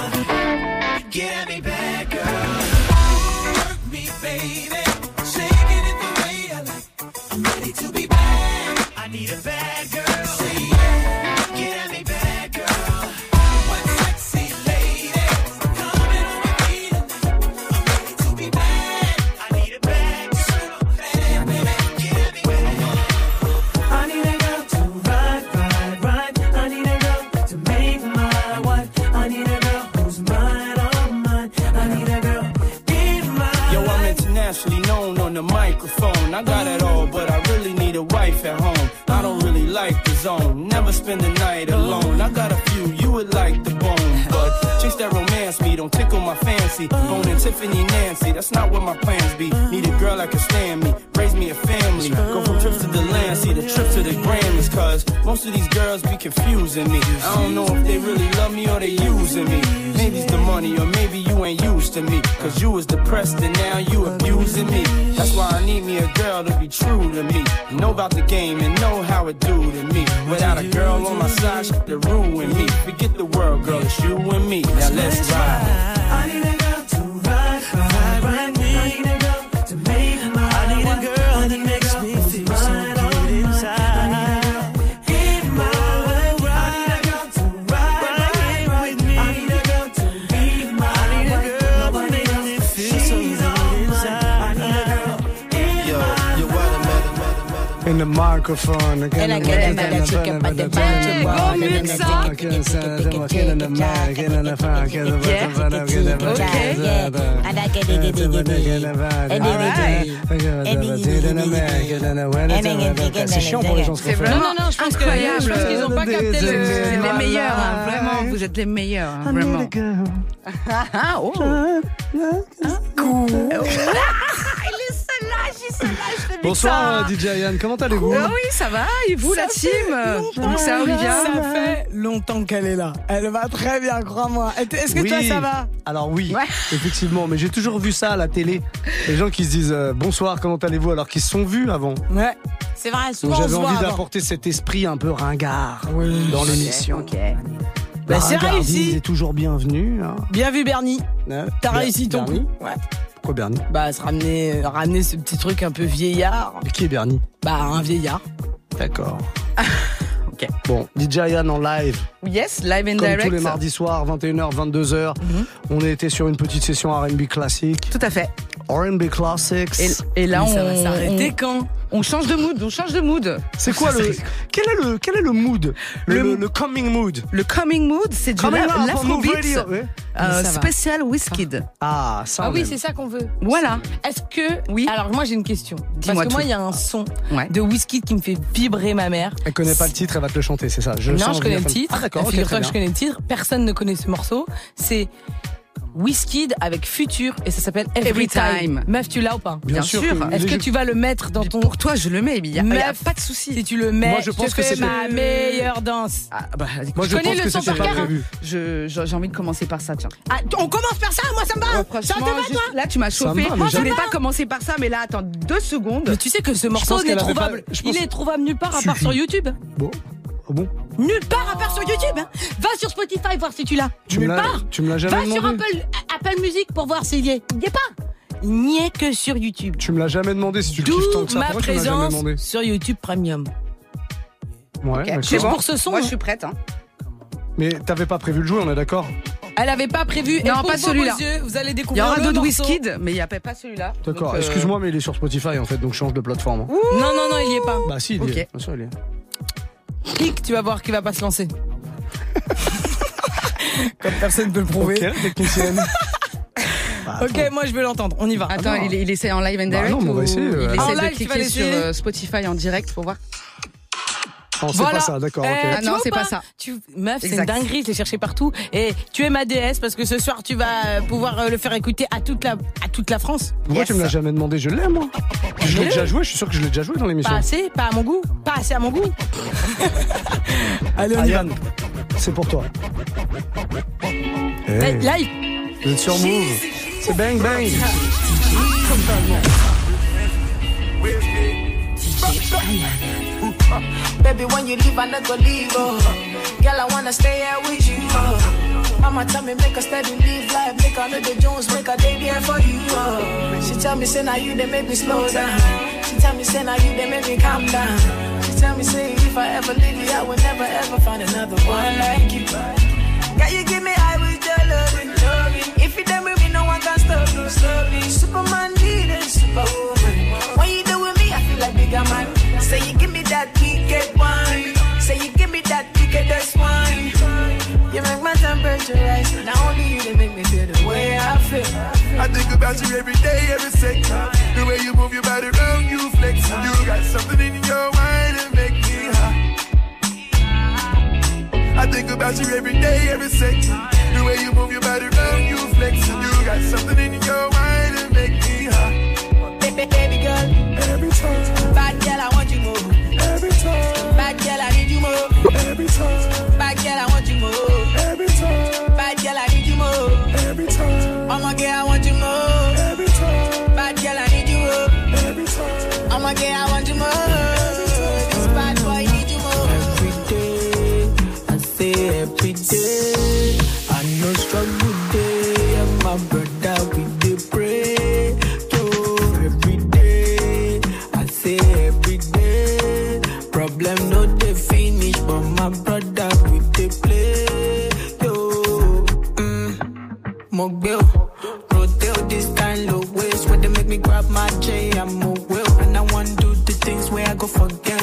get at me, bad girl. Work me, baby. Shaking it the way I like. I'm ready to be bad. I need a bad girl. Say yeah. Get at me, bad girl. What sexy lady? Come in on my feet tonight. I'm ready to be bad. I need a bad girl. Bad, baby. Get at me, bad. I need a girl to ride, ride, ride. I need a girl to make my wife. I need a girl who's mine, oh mine. I need a girl in my Yo, I'm internationally known on the microphone. I got it all, but I really need a wife at home. I don't really like the zone, never spend the night alone. I got a few, you would like the bone, but chicks that romance me don't tickle my fancy. Owning Tiffany Nancy, that's not what my plans be. Need a girl that can stand me, raise me a family. Go from trips to the land, see the trip to the Grammys. Cause most of these girls be confusing me. I don't know if they really love me or they using me. Maybe it's the money or maybe you ain't used to me. Cause you was depressed and now you abusing me. That's why I need me a girl to be true to me. Know about the game and know how it do to me. Without a girl on my side, she could ruin me. Forget the world, girl, it's you and me. Now let's ride. I need a girl to ride, ride, ride me. I need a girl to make my I need a girl that makes me feel so good inside. I need a girl in my life. I need a girl to ride, ride, ride with me. I need a girl to be my I need a girl that makes me feel so good inside. I need a girl in my life. And in the microphone. And I get another chicken by the bunch Go mix up. Get in the mic, get in the funk, get in the And I get it, c'est chiant pour les gens. C'est vraiment Non, non, non, je pense que- incroyable. je pense qu'ils ont pas capté le- Vous êtes les meilleurs, hein, vraiment. Vous êtes les meilleurs, hein, vraiment. Ah, oh. Cool. Il est celle-là, j'ai celle-là, je l'ai mis Bonsoir ça. D J Yann, comment allez-vous? Ah oui, ça va. Et vous, la team? Donc c'est Olivia. Ça fait longtemps qu'elle est là. Elle va très bien, crois-moi. Est-ce que Oui. toi, ça va? Alors oui, effectivement, mais j'ai toujours vu ça à la télé. Les gens qui se disent euh, bonsoir, comment allez-vous, alors qu'ils se sont vus avant. Ouais, c'est vrai, Donc souvent on j'avais se voit envie avant. d'apporter cet esprit un peu ringard dans Ok, l'émission. Ok. Bah, c'est ringardise réussi. est toujours bienvenu. Hein. Bien vu, Bernie. Ouais. T'as Ber- réussi ton Bernie coup. Ouais. Pourquoi Bernie? Bah, se ramener, euh, ramener ce petit truc un peu vieillard. Et qui est Bernie? Bah, un vieillard. D'accord. Ok. Bon, D J Yann en live. Yes, live and Comme direct. tous les mardis soirs, vingt et une heures, vingt-deux heures. On a été sur une petite session R and B classique. Tout à fait. R and B classics. Et, et là, Mais on ça va s'arrêter on- quand? On change de mood, on change de mood. C'est quoi le quel est le quel est le mood le, Le- le, le coming mood? Le coming mood, c'est du Coming la- up on l'afrobeat Move Radio, oui. euh, Mais ça va. spécial Wizkid. Ah, ça. Ah oui, même. c'est ça qu'on veut. Voilà. Est-ce que. Oui. Alors, moi, j'ai une question. Parce Dis-moi que moi, tout. il y a un son Ouais. de Wizkid qui me fait vibrer ma mère. Elle connaît pas le titre, elle va te le chanter, c'est ça. Je non, sens je connais venir le comme- titre. Ah d'accord, ok, Figure-toi très que je bien. connais le titre. Personne ne connaît ce morceau. C'est Wizkid avec Future et ça s'appelle Every, Every Time. Time. Meuf, tu l'as ou pas? Bien sûr que Est-ce que les- tu vas le mettre dans ton. Pour toi, je le mets, il y a, il y a Meuf, pas de souci. Si tu le mets, Moi, je pense te que fais c'était- ma meilleure danse. Ah, bah, Moi, je connais pense le que son c'était par pas cœur. prévu. je, je- j'ai envie de commencer par ça, tiens. Ah, on commence par ça, moi ça me va. Ouais, ça te franchement, va, juste- toi? là, tu m'as Ça me chauffé. va, mais Moi, je j'aime- voulais pas commencer par ça, mais là, attends deux secondes. Mais tu sais que ce morceau pense n'est qu'elle avait trouvable. pas- je pense- Il est trouvable nulle part à part sur YouTube. Bon. Ah bon? Nulle part à part sur YouTube. Hein. Va sur Spotify voir si tu l'as. Tu me Nulle l'as part. tu me l'as jamais Va sur demandé. Apple, Apple Music pour voir s'il y est. Il n'y est pas. Il n'y est que sur YouTube. Tu me l'as jamais demandé si tu le kiffes tant D'où que ça. ma Pourquoi tu me l'as jamais présence demandé? sur YouTube Premium. Ouais, Ok, d'accord. c'est bon. Pour ce son, Moi, hein. je suis prête. Hein. Mais t'avais pas prévu le jouer, on est d'accord? Elle avait pas prévu. Non, Et pour pas vos celui-là. beaux yeux, vous allez Il y découvrir aura le d'autres morceau. Wizkid, mais il n'y a pas celui-là. D'accord. Donc, euh, Excuse-moi, mais il est sur Spotify en fait, donc je change de plateforme. hein. Non, non, non, il y est pas. Bah si, il Ok. y est. Bien sûr, il y est. Clique, tu vas voir qu'il va pas se lancer. Comme personne peut le prouver. Ok, technicienne. Bah, Ok, moi je veux l'entendre. On y va. Attends, non. il, il essaie en live and Bah direct non, mais on va ou essayer, euh, il attends. essaie En de live, tu vas cliquer sur l'essayer euh, Spotify en direct pour voir. Non, c'est Voilà. pas ça, d'accord, ok. Eh, Ah tu non, vois c'est ou pas ça. Tu... Meuf, c'est une Exact. dinguerie, je l'ai cherché partout. Et tu es ma déesse parce que ce soir, tu vas euh, pouvoir euh, le faire écouter à toute la, à toute la France. Pourquoi Yes. tu me l'as jamais demandé? Je l'ai, moi. Je l'ai déjà joué, je suis sûr que je l'ai déjà joué dans l'émission. Pas assez, pas à mon goût. Pas assez à mon goût. Allez, on y va. Ayane, c'est pour toi. Hey, Hey, live. vous êtes sur Move. C'est bang bang. Baby, when you leave, I never leave. Oh. Girl, I wanna stay here with you. Oh. Mama tell me make a steady live life, make a little Jones, make a day there for you. Oh. She tell me say now you they make me slow down. She tell me say now you they make me calm down. She tell me say if I ever leave you, I will never ever find another one like you. Girl, you give me high with your loving, loving. If you done with me, no one can stop you, stop me. Superman needed superwoman. When you do with me, I feel like bigger man. Say you give me that ticket one. Say you give me that ticket, that's one. You make my temperature rise. Not only you, they make me feel the way I feel. I think about you every day, every second. The way you move your body around, you flex. You got something in your mind that make me high. I think about you every day, every second. The way you move your body around, you flex. You got something in your mind that make me high. Baby, baby girl, every time. Bad girl, I want you more. Every time. Bad girl, I need you more. Every time. Bad girl, I want you more. Every time. Bad girl, I need you more. Every time. I'm a girl, I want you more. Every time. Bad girl, I need you more. Every time. I'm a girl, I want you more. This bad boy need you more. Every day, I say every day, I know struggle day, and my brother we dey pray. Yo, every day, I say every day, problem no dey finish, but my brother we dey play. Yo, mm, Mogbil, Rodale, this kind of ways where they make me grab my J, I'm a will, and I want do the things where I go forget.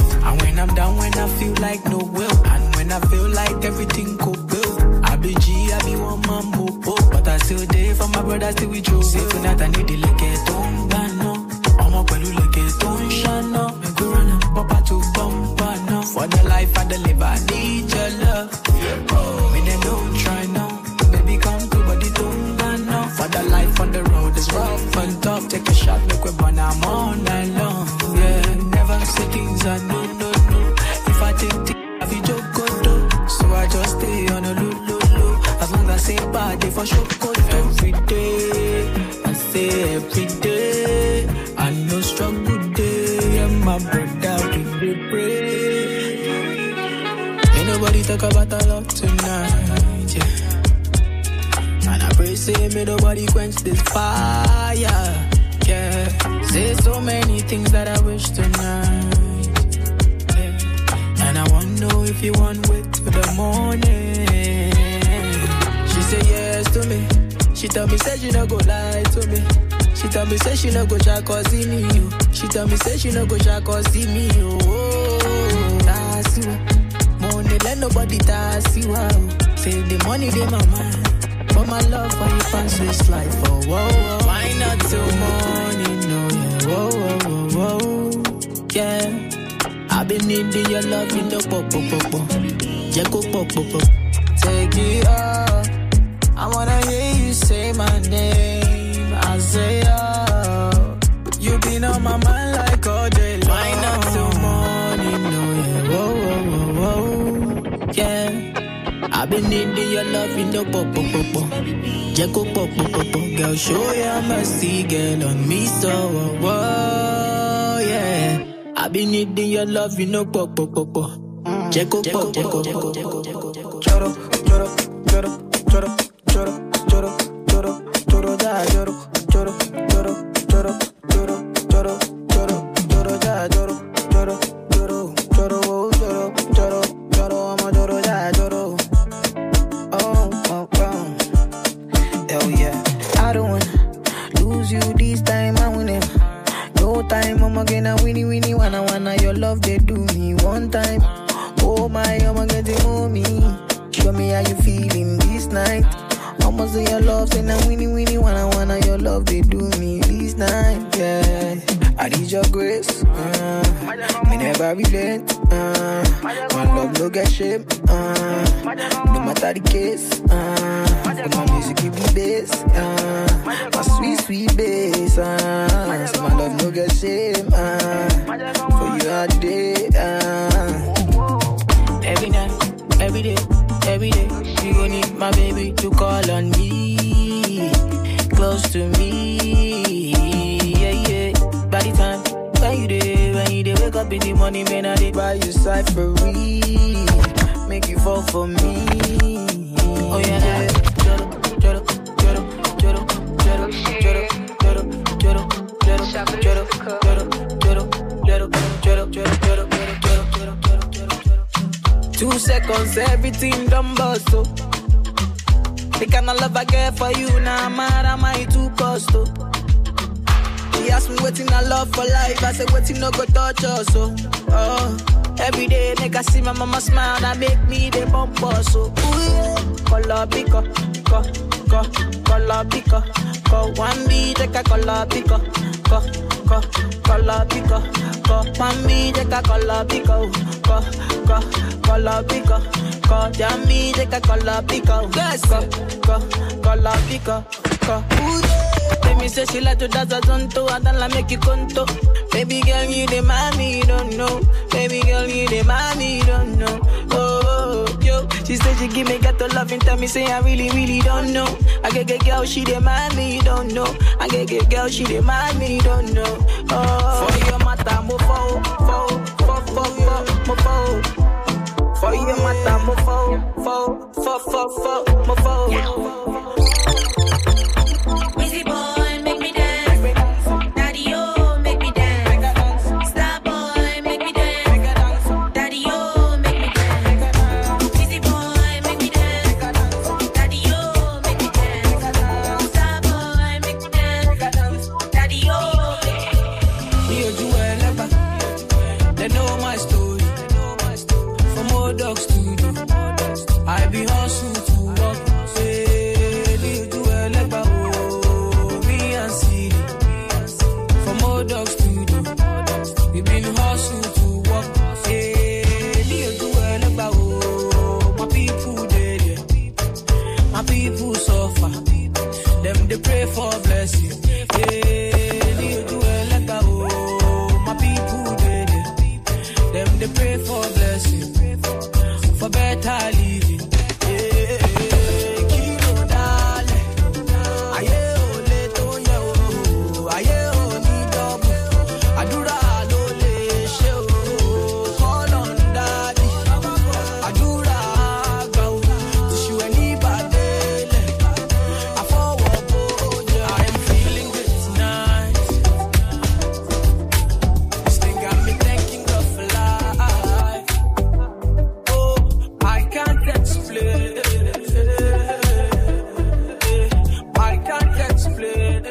I still with you. Say tonight I need the leke don't no. I'm up with leke don't shine up. Make we run up, papa to bumper no. For the life I deliver, I need your love. Me they don't try now. Baby come to body don't no. For the life on the road is rough and tough. Take a shot, make we burn I'm all night long. Yeah, never say things I know, no, no. If I take things, I be joke go do. So I just stay on a low, low, low. As long as I say bad, they for sure go do. Every day, I say every day. I know struggle day, and my brother we dey pray. Ain't nobody talk about our love tonight, yeah. And I pray say may nobody quench this fire, yeah. Say so many things that I wish tonight, yeah. And I wanna know if you want wait till the morning. She say yes to me. She tell me say she no go lie to me. She tell me say she no go try cause see me, you. She tell me say she no go try cause see me, you. Oh, that's you. Money let nobody tax you out. Say the money they my mind. But my love for you pass this life, oh, whoa, whoa. Why not till morning, no, yeah, whoa, whoa, whoa, whoa, yeah. I've been needing your love in the pop, pop, pop, pop. Yeah, go pop, pop, pop. Take it up. I wanna hear you say my name. I say, oh, you been on my mind like all day long. Why not till morning, no, yeah, whoa, whoa, whoa, whoa, yeah. I've been needing your love in the pop, pop, pop, pop. Yeah, go pop, pop, pop, pop. Girl, show your mercy, girl, on me, so, oh, whoa, yeah. I've been needing your love in the pop, pop, pop, pop. Yeah, go pop, yeah, go, yeah, go, yeah, go, yeah, go. Choro, choro, choro, choro, choro, choro, choro, choro, da, choro, choro, choro, choro, choro, choro, choro, choro, da, choro, choro, choro, choro, choro, choro, choro, I'm a choro, da, choro. Oh, oh, oh. Hell yeah. I don't wanna lose you this time, I win it. No time, I'm gonna winnie, winnie, wanna, wanna. Your love, they do me one time. Oh my, I'm getting more me. Show me how you feeling this night. Almost your love, say now winnie, winnie, wanna, wanna. Your love, they do me this night, yeah. I need your grace, uh, me never relent, uh, my love no get shame, uh, no matter the case, uh, but my music give me bass, uh, my sweet, sweet bass, uh, so my love no get shame, uh, for you all day, uh. Every night, every day, every day, you gon' need my baby to call on me, close to me, yeah, yeah. By the time, when you dey, when you dey wake up in the morning, man, I dey buy you cyphery, make you fall for me, oh yeah, yeah. Joro, joro, joro, joro, joro, joro, joro, joro, joro, joro, joro, joro, joro, joro, joro, two seconds, everything done bust, oh. The kind of love I get for you, now nah, mad am I too cost, oh. She asked me waiting I love for life, I said waiting no go touch us, oh. Oh, every day make I see my mama smile, that make me the bump us, so ooh yeah. Color pico, co, co, color pico, co. One beat take a color pico, co, co, color pico, co. One beat take a color pico, co, co, color pico, co. Jammy take a color pico, yes, co, co, color pico, co. Ooh yeah. Baby say she like to dance a zonto, I don't like make you conto. Baby girl, you the mommy, you don't know. Baby girl, you the mommy, you don't know. Oh, oh, yo, she said she give me ghetto love and tell me say I really, really don't know. I get get girl, she the mommy, you don't know. I get get girl, she the mommy, you don't know. Oh, for your mata, mo fo, fo, fo, fo, fo, mo fo. For your mata, mo fo, fo, fo, fo, fo, mo fo. Wizzy boy, make me dance. Daddy, oh, make me dance. Star boy, make me dance. Daddy, oh, make me dance. Wizzy boy, make me dance. Daddy, oh, make me dance. Star boy, make me dance. Daddy, oh, make me dance. Me or Joel ever. They know my story. From old dogs to you. I be hustle to walk. Say, blessing. Yeah, you do it like a oh, my people did it. Them they pray for blessing, for better living. Yeah, kilo dale, aye ole to ye oh, aye oni double, adura lo le she oh, call on daddy, adura go, to show anybody. I forward bold, yeah, I am feeling good tonight. This thing got me thanking God for life. Oh, I can't explain. I can't explain.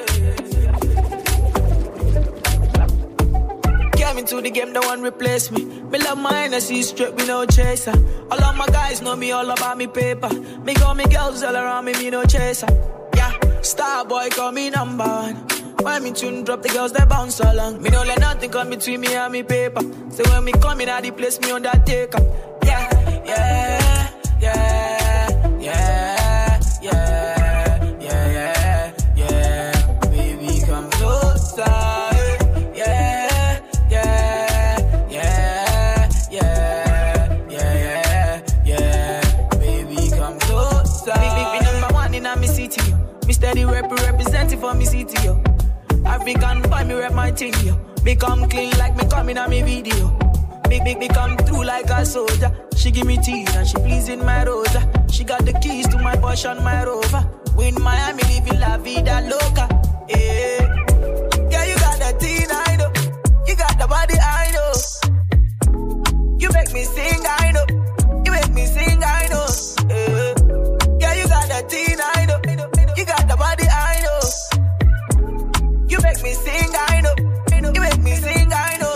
Came into the game, no one replace me. Me love my Hennessy straight, me no chaser. All of my guys know me all about me paper. Me got me girls all around me, me no chaser. Yeah, star boy call me number one. When me tune drop, the girls they bounce along. Me don't let nothing come between me and me paper. So when me come in, I the place me undertaker. Yeah, yeah, yeah, yeah, yeah, yeah, yeah, yeah. Baby, come closer. Yeah, yeah, yeah, yeah, yeah, yeah, yeah. Baby, come closer. Big, big, big number one in my city. Me steady rep representing for me city, yo. African boy, me rep my thing, yo. Me come clean like me coming on me video. Big, big, me come through like a soldier. She give me tea and she pleasing my rosa. She got the keys to my Porsche and my Rover. We in Miami living la vida loca. Yeah, yeah, you got that teen, I know. You got the body, I know. You make me sing, I know. You make me sing, I know. Yeah, yeah, you got that teen, I know. You got the body, I know. You make me sing, I know. You make me sing, I know.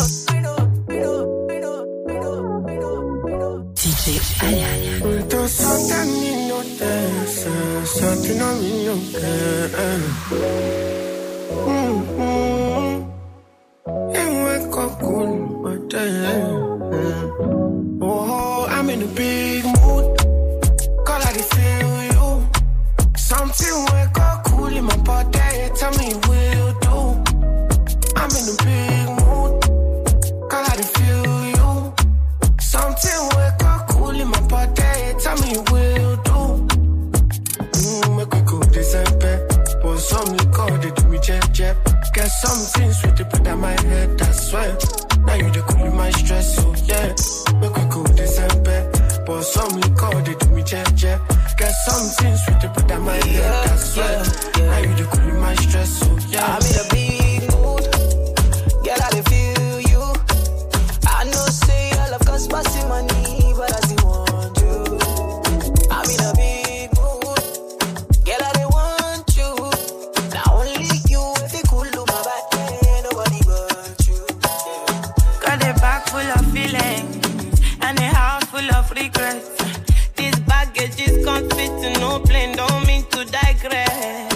D J Ayaya. Ultra Satan in your dance, Satan in your dance. Mm-hmm. And wake up cool, but oh, I'm in a big mood. Call I feel you. Something wake up cool in my body. Tell me will do. I'm in a big mood. Call I feel you. Something wake up cool in my body. Tell me will do. Mm, make we go December. Pour some liquor, they do me jet jet. Get something sweet to put on my head, that's why. Now you the cool in my stress, so yeah. Make we go December. Pour some liquor, they do me jet jet. Get something sweet to put on my head, that's why. Now you the cool in my stress, so yeah. I'm in a big mood. Girl, I dey feel you. I know say I love cause passing money, but I still want you. I'm in a big mood. Girl, I dey want you. Not only you, if you cool to my body, nobody but you. Got a bag full of feelings and a heart full of regrets. This baggage is can't fit to no plane, don't mean to digress.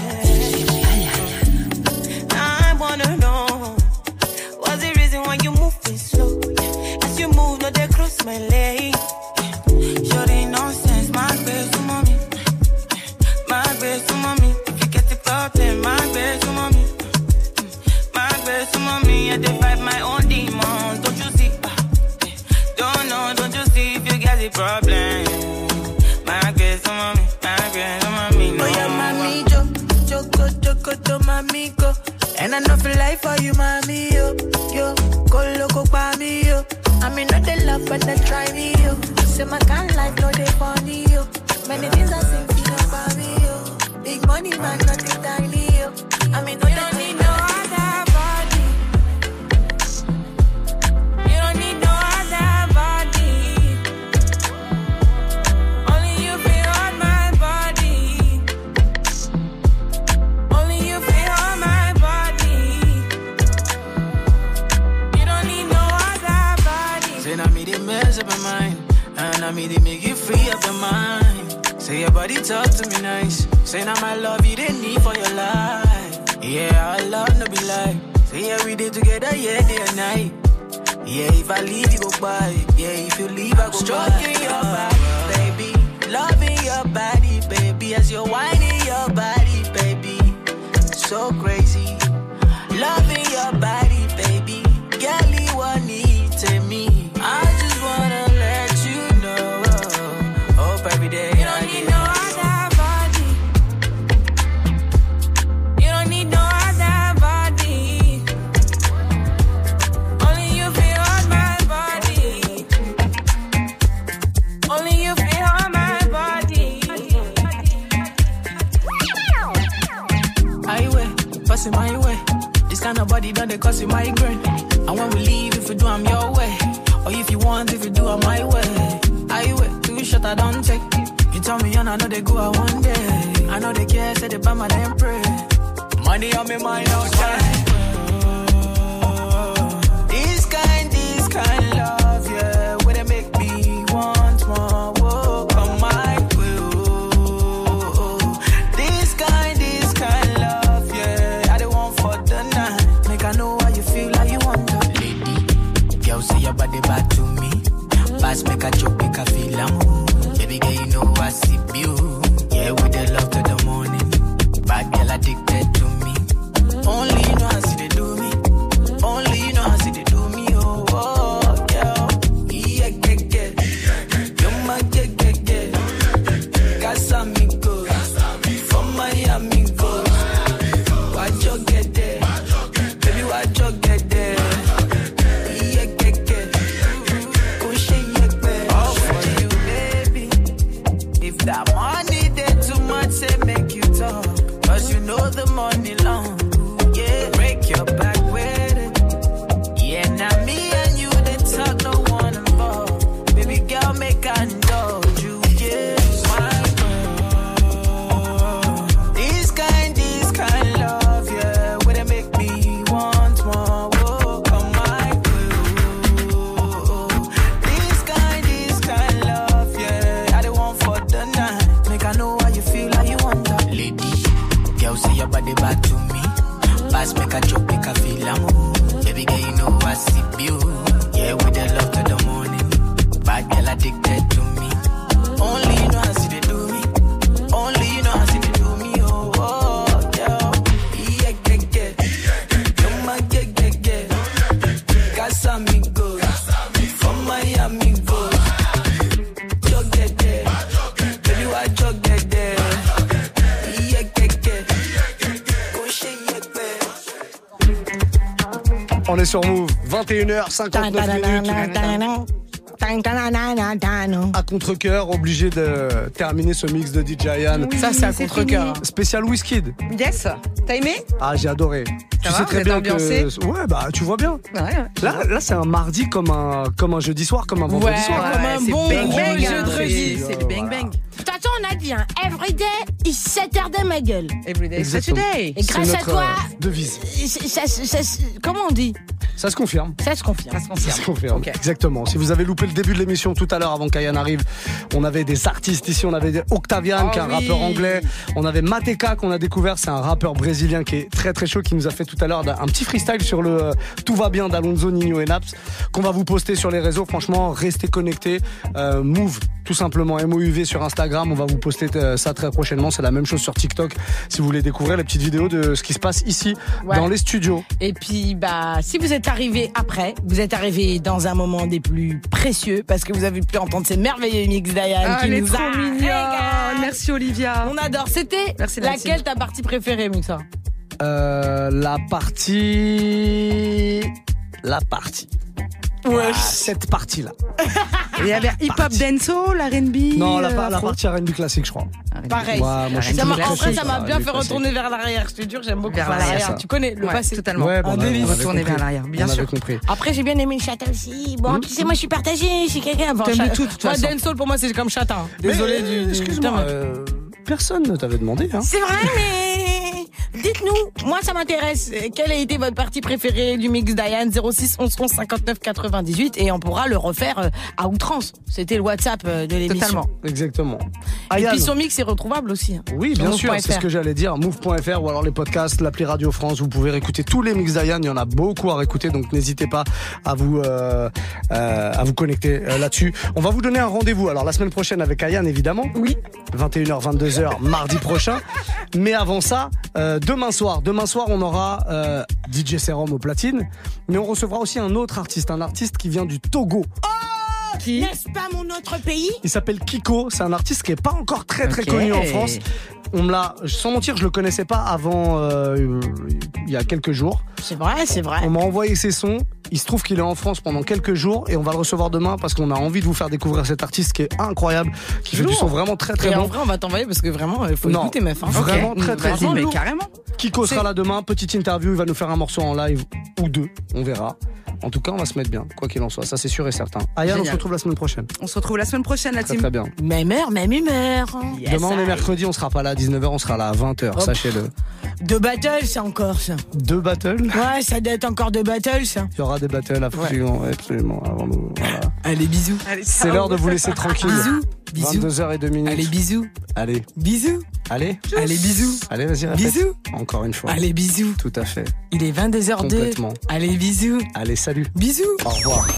I wanna know what's the reason why you moving slow? As you move, no they cross my leg. Sure ain't nonsense, my best to mommy, my best to mommy. If you get the problem, my best to mommy, my best to mommy. I defy my own demons, don't you see? Don't know, don't you see? If you get the problem, my best to mommy, my best to mommy. No, oh yeah, mami, jo, joko, joko, to mami, go. And I know for life for you, mami, yo, yo, go loco, pa me, yo. I mean, not the love, but they try me, yo. Say my kind life, no, they funny, yo. Many things I think, you know, for me, yo. Big money, man, nothing tiny, yo. I mean, no, you don't need no other body. You don't need no other body. Only you feel on my body. Only you feel on my body. You don't need no other body. Say now me they mess up my mind, and I me they make you free of your mind. Say your body talk to me nice. Say now my love you didn't need for your life. Yeah, our love no be lie. Say every day together, yeah, day and night. Yeah, if I leave you go by. Yeah, if you leave I go stroking by. Your body, baby, loving your body, baby, as you're whining your body, baby. so crazy. Loving your body, baby. Girl, you want it to me. I just wanna let you know. Hope every day. You don't need no other body. You don't need no other body. Only you feel on my body. Only you feel on my body. Highway, passing my way. This kind of body done they cause you migraine. And when we leave, if you do, I'm your way. Or if you want, if you do, I'm my way. Highway, two shot I don't take. You tell me, and I know they go out one day. I know they care, say they buy my damn pray. Money on me mind outside. This kind, this kind love, yeah. Where they make me want more. Whoa, come my way. Oh, this kind, this kind love, yeah. I don't want for the night. Make I know how you feel, how you want to. Lady, girl, say your body back to me. Pass, make a joke, make a feel I'm baby girl, you know I see you. Yeah, with the love to the morning. Bad girl addicted to me. Only you know how see they do me. Only you know how see they do me. Oh, oh, girl. Yeah, yeah, yeah. You're my yeah, yeah, yeah. Casamigos. From Miami, go. Watch you get there. Baby, watch you get there. Yeah, yeah, yeah. Go shake your bed. All for you, baby. If that money there too much, say make you talk. Cause you know the money long. Yeah, break your back with it. Yeah, now me and you, they talk, no one involved. Baby girl, make I indulge you. Yeah, my girl. This kind, this kind love, yeah. Where they make me want more. Whoa, come my girl. This kind, this kind love, yeah. I don't want for the night. Make I know how you feel, how you want that. Lady, girl, say your body back to me. Pass, make a joke, make a feel I'm baby girl, you know I see you. Yeah, with the love to the morning. Bad girl addicted to me. Only you know how see they do me. Only you know how see they do me. Oh, oh, yeah. Yeah, yeah, yeah. You're my yeah, yeah, yeah. Casamigos. From Miami, go. Jog get there. Baby, why jog get there? Yeah, yeah, yeah. Go shake your bed. On est sur Move, vingt et une heures cinquante-neuf minutes. À contre-cœur, obligé de terminer ce mix de D J Yann. Oui, ça, c'est à contre-cœur. Spécial Wizkid. Yes. T'as aimé? Ah, j'ai adoré. Ça tu va, sais très vous êtes bien ambiancé que. Ouais, bah, tu vois bien. Ouais, ouais. Là, là c'est un mardi comme un, comme un jeudi soir, comme un vendredi Ouais, soir. comme un C'est bon bang gros bang, jeu hein. de rugby. C'est- C'est le bang bang. De toute façon, on a dit, hein, everyday is Saturday, ma gueule. Everyday is Exactement. Saturday. Et grâce C'est à notre, toi, euh, devise. ça, ça- ça- ça- comment on dit? Ça se confirme. Ça se confirme. Ça se confirme. Ça se confirme. Ok. Exactement. Si vous avez loupé le début de l'émission tout à l'heure avant qu'Ayan arrive, on avait des artistes ici. On avait Octavian, Oh qui est un oui. rappeur anglais. On avait Mateka, qu'on a découvert. C'est un rappeur brésilien qui est très très chaud, qui nous a fait tout à l'heure un petit freestyle sur le euh, Tout va bien d'Alonso, Nino et Naps, qu'on va vous poster sur les réseaux. Franchement, restez connectés. Euh, Move, tout simplement. M O U V sur Instagram. On va vous poster euh, ça très prochainement. C'est la même chose sur TikTok. Si vous voulez découvrir les petites vidéos de ce qui se passe ici, Ouais. dans les studios. Et puis, bah, si vous êtes arrivé après, vous êtes arrivé dans un moment des plus précieux parce que vous avez pu entendre ces merveilleux mix d'Ayan Ah, qui elle est nous trop a mignonne. régalé. Merci Olivia. On adore. C'était Merci, Nancy. laquelle ta partie préférée, Mixa? Euh, la partie... La partie. Ouais. Ah, cette partie-là. Il y avait hip-hop, dancehall, R and B. Non, la, euh, par- la afro. partie R and B classique, je crois. Pareil. Ouais, moi, je suis Ça m'a- très en vrai, classique, ça m'a ça, bien les fait classiques. retourner vers l'arrière. Je te jure, j'aime beaucoup Vers vers l'arrière, l'arrière. ça. Tu connais le Ouais, passé. totalement. Ouais, Un bon, on délice. avait Retourner compris. vers l'arrière, bien On sûr. avait compris. Après, j'ai bien aimé le chata aussi. Bon, tu sais, moi, je suis partagée. Je suis quelqu'un. Enfin, T'aimes cha- de tout, de toute moi, façon. dancehall, pour moi, c'est comme chata. hein. Désolé Mais, du. du- Excuse-moi, Putain, euh, personne ne t'avait demandé. Hein. C'est vrai, mais dites-nous, moi ça m'intéresse. Quelle a été votre partie préférée du mix d'Ayan? Zéro six onze onze cinquante-neuf quatre-vingt-dix-huit et on pourra le refaire euh, à outrance. C'était le WhatsApp euh, de l'émission. Totalement. Exactement. Et Ayan. puis son mix est retrouvable aussi. hein. Oui, Sur bien move sûr, point c'est F R. ce que j'allais dire. Move point F R ou alors les podcasts, l'appli Radio France. Vous pouvez réécouter tous les mix d'Ayan. Il y en a beaucoup à réécouter, donc n'hésitez pas à vous euh, euh, à vous connecter euh, là-dessus. On va vous donner un rendez-vous. Alors la semaine prochaine avec Ayan, évidemment. Oui. vingt et une heures, vingt-deux heures, mardi prochain. Mais avant ça, euh, demain demain soir. Demain soir, on aura euh, D J Serum au platine, mais on recevra aussi un autre artiste, un artiste qui vient du Togo. Oh, qui n'est-ce pas mon autre pays? Il s'appelle Kiko. C'est un artiste qui est pas encore très très Okay. connu en France. On me l'a, sans mentir, je le connaissais pas avant euh, il y a quelques jours. C'est vrai, c'est vrai. On m'a envoyé ses sons. Il se trouve qu'il est en France pendant quelques jours et on va le recevoir demain parce qu'on a envie de vous faire découvrir cet artiste qui est incroyable, qui fait du son vraiment très très Et bon. en vrai, on va t'envoyer parce que vraiment, il faut Non, écouter, meuf. Hein. Vraiment Okay. très très Vas-y, bon. mais carrément. Kiko sera là demain, petite interview, il va nous faire un morceau en live ou deux, on verra. En tout cas, on va se mettre bien, quoi qu'il en soit, ça c'est sûr et certain. Ayane, on Génial. se retrouve la semaine prochaine. On se retrouve la semaine prochaine, la Très team. très bien. Même heure, même humeur. Yes, Demain on est I. mercredi, on sera pas là à dix-neuf heures, on sera là à vingt heures, Hop. sachez-le. Deux battles, c'est encore ça. Deux battles. Ouais, ça doit être encore deux battles, ça. Il y aura des battles absolument, ouais, absolument avant nous. Voilà. Allez, bisous. C'est l'heure de vous laisser tranquille. Bisous. Bisous. vingt-deux heures deux minutes. Allez, bisous. Allez. Bisous. Allez. Allez, bisous. Allez, vas-y, répète. Bisous. Encore une fois. Allez, bisous. Tout à fait. Il est vingt-deux heures deux. Complètement. Allez, bisous. Allez, salut. Bisous. Au revoir.